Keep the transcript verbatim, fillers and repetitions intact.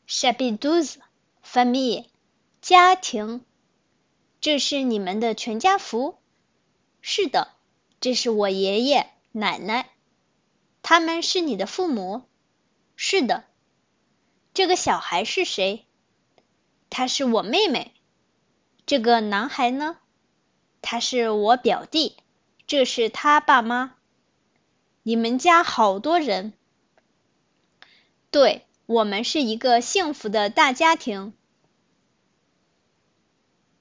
Chapitre Famille 家庭。这是你们的全家福？是的，这是我爷爷、奶奶。他们是你的父母？是的。这个小孩是谁？她是我妹妹。这个男孩呢？他是我表弟。这是他爸妈。你们家好多人。对，我们是一个幸福的大家庭。